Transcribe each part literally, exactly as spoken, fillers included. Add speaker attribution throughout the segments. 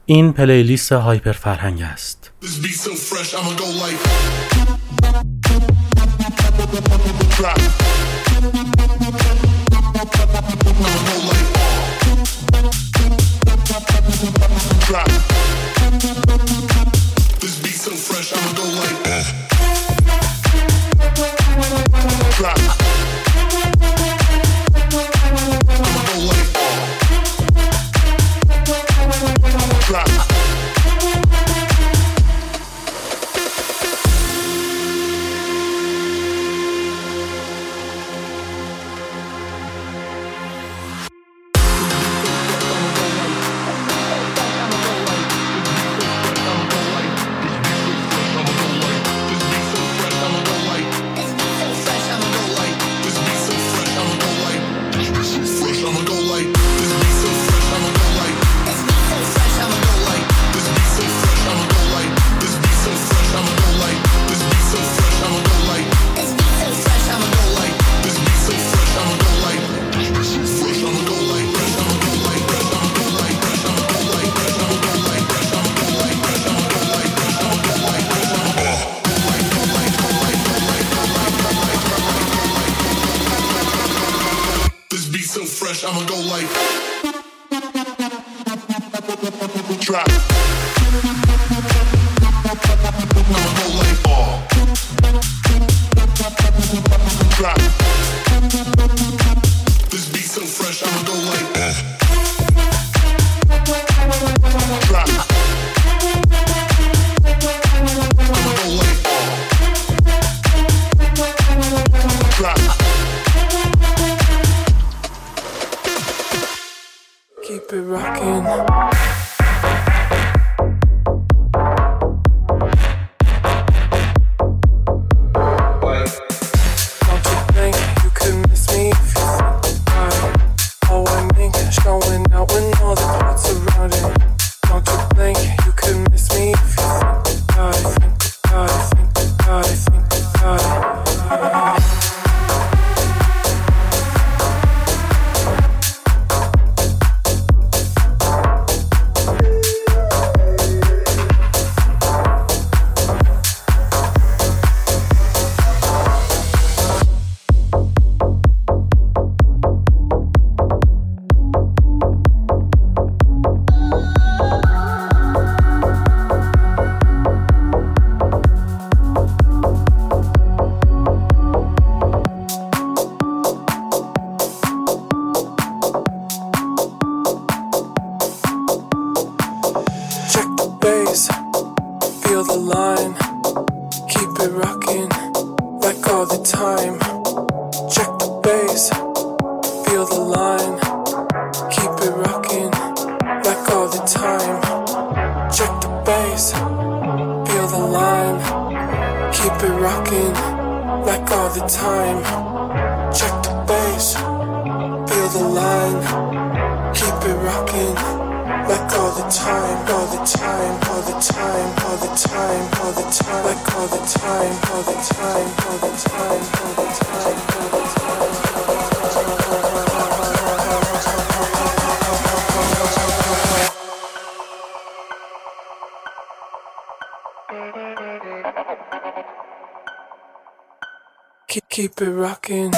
Speaker 1: این پلیلیست هایپر فرهنگ است.
Speaker 2: Keep it rockin'.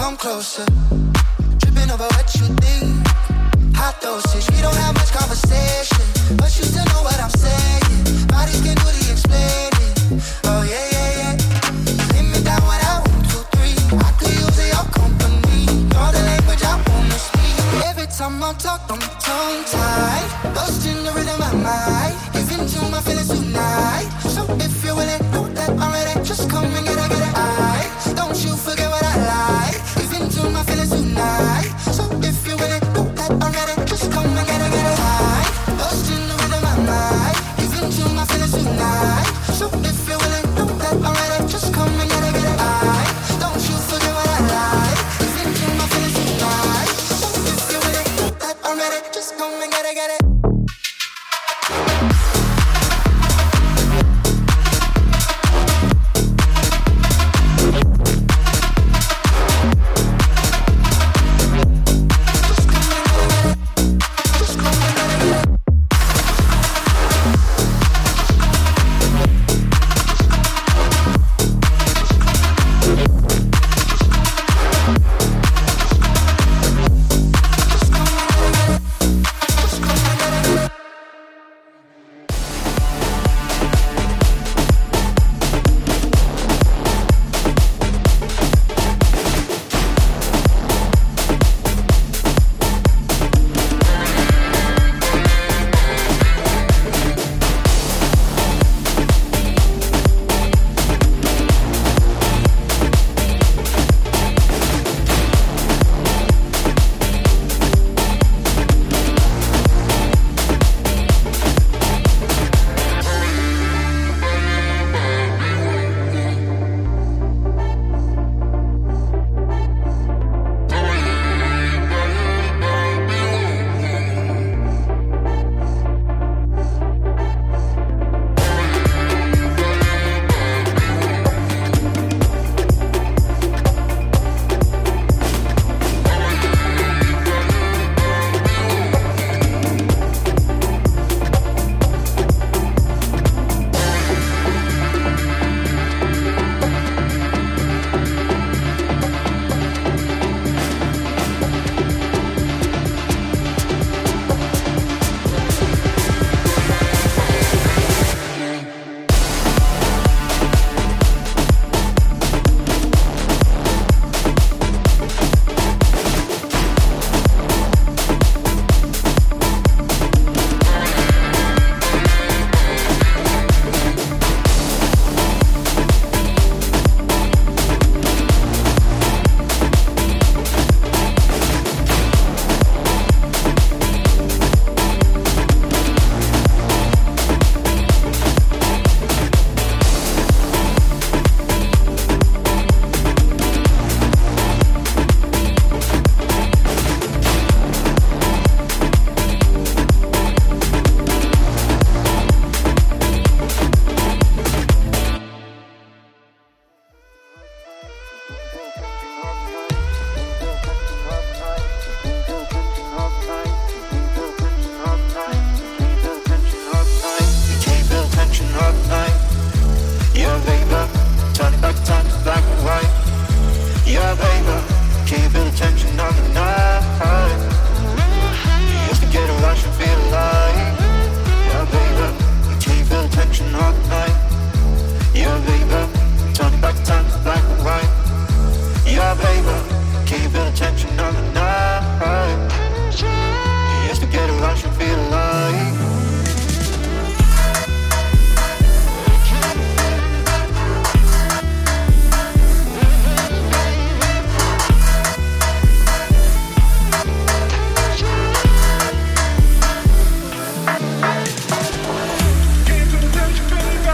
Speaker 3: come closer. Tripping over what you think. Hot dosage, we don't have much conversation, but you still know what I'm saying. Bodies can do the explaining. Oh yeah, yeah, yeah. Hit me down when I one, two, three. I could use your company. Know the language I wanna speak. Every time I talk, I'm tongue tied. Lost in the rhythm of my mind. Give into my feelings tonight. So if you're willing, know that I'm ready. Just come and get a get it. I don't you forget what I like. Give into my feelings tonight. So if you're willing, know that I'm ready. Just come and get a get it. I lost in the rhythm of my mind. Give into my feelings tonight. So if you're willing, know that I'm ready. Just come and get a get it. I don't you forget what I like. Give into my feelings tonight. So if you're willing, know that I'm ready. Just come and get a get it.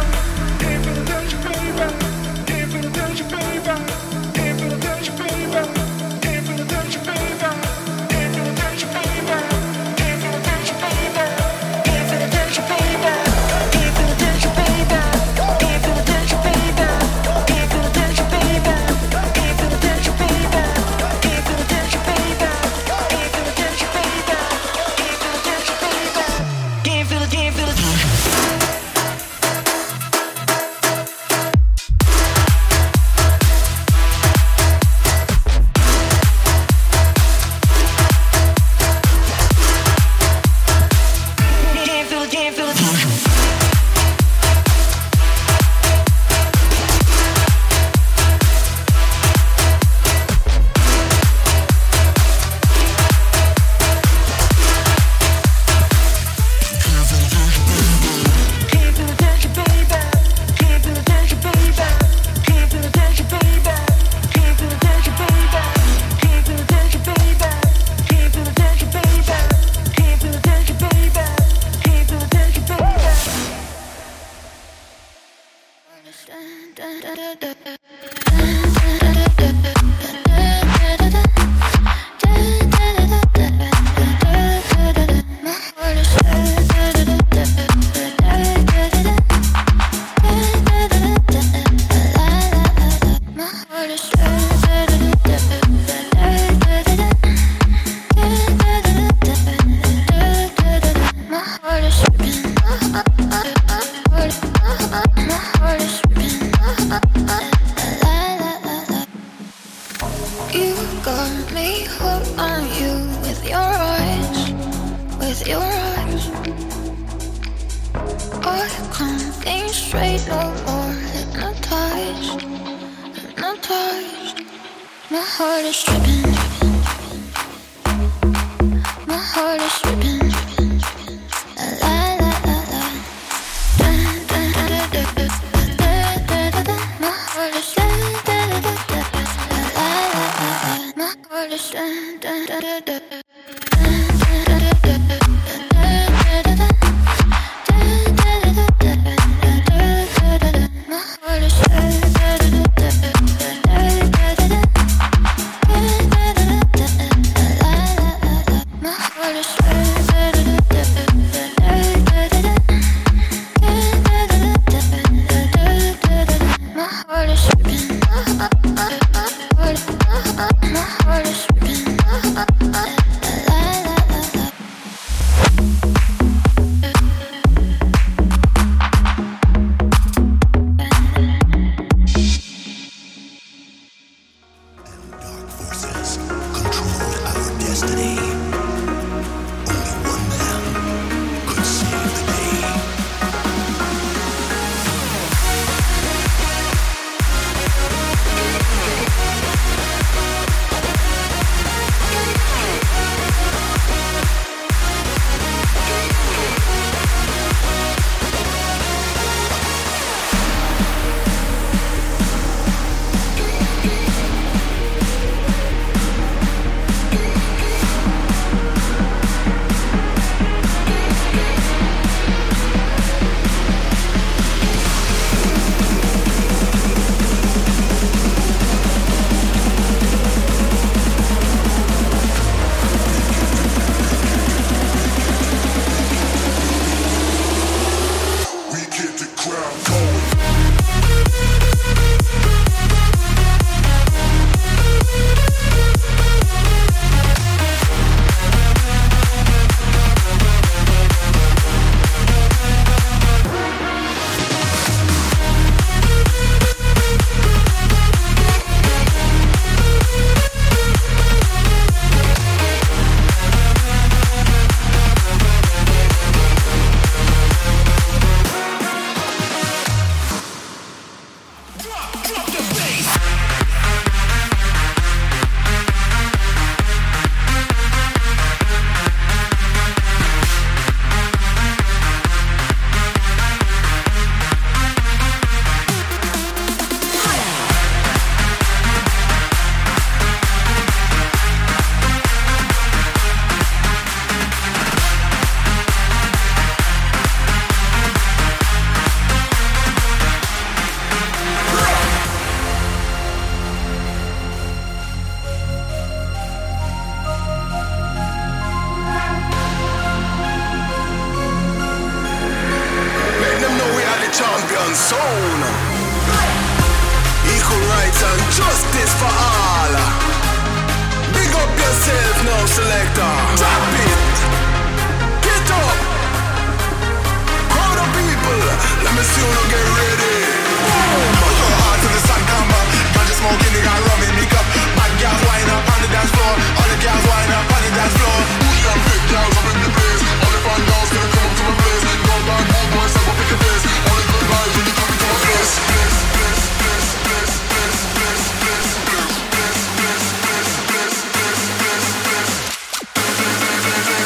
Speaker 4: Baby, got me hooked on you with your eyes, with your eyes. I can't think straight no more. Hypnotized, hypnotized. My heart is tripping. My heart is tripping. La la la la. Dun, dun, dun, dun, dun, dun, dun, dun, dun. My heart is dun, dun, dun, dun, dun, dun. La la la la. My heart is dun, dun, dun, dun, dun, dun.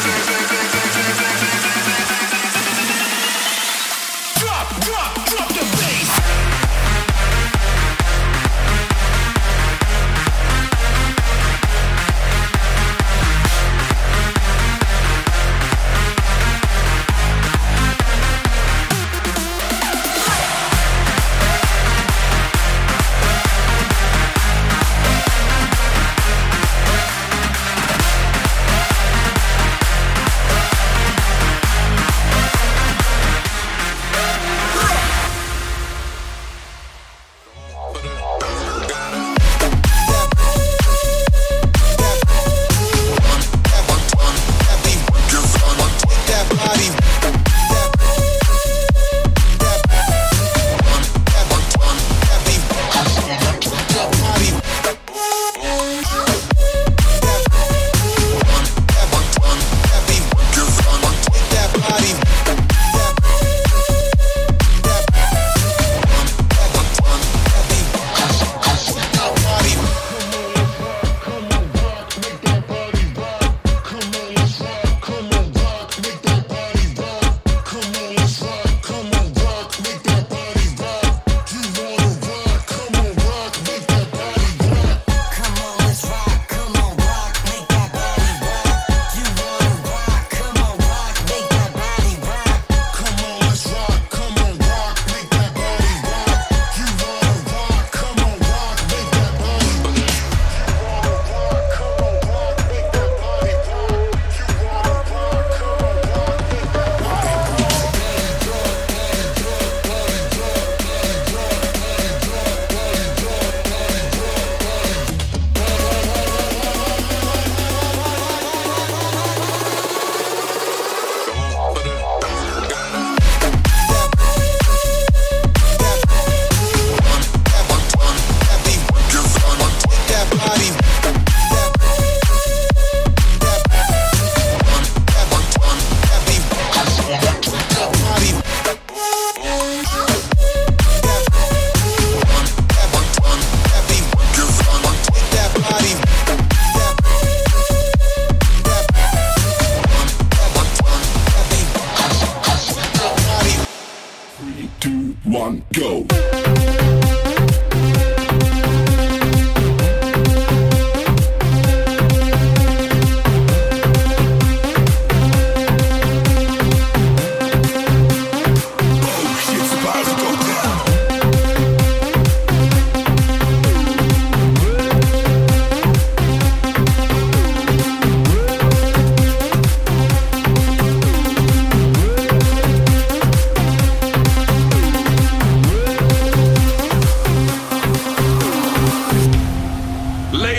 Speaker 5: Drop, drop, drop the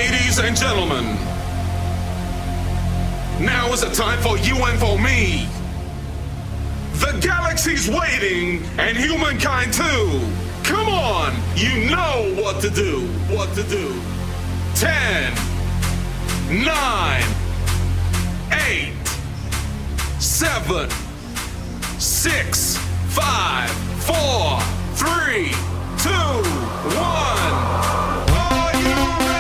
Speaker 5: Ladies and gentlemen, now is the time for you and for me. The galaxy's waiting, and humankind too. Come on, you know what to do, what to do. Ten, nine, eight, seven, six, five, four, three, two, one. Are you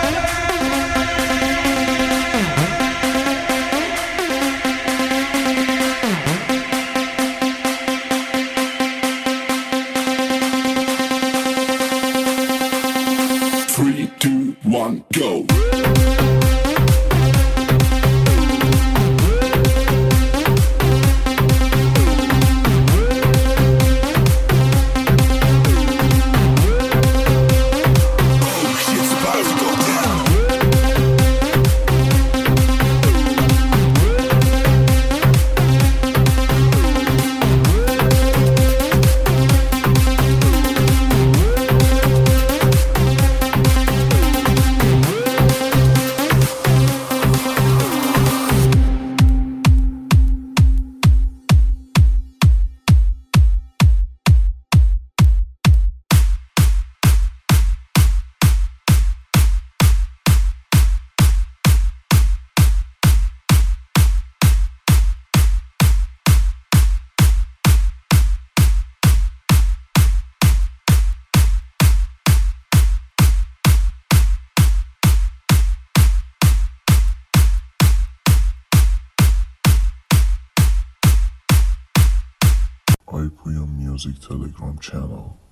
Speaker 6: ready? Three, two, one, go. I P M Music Telegram channel.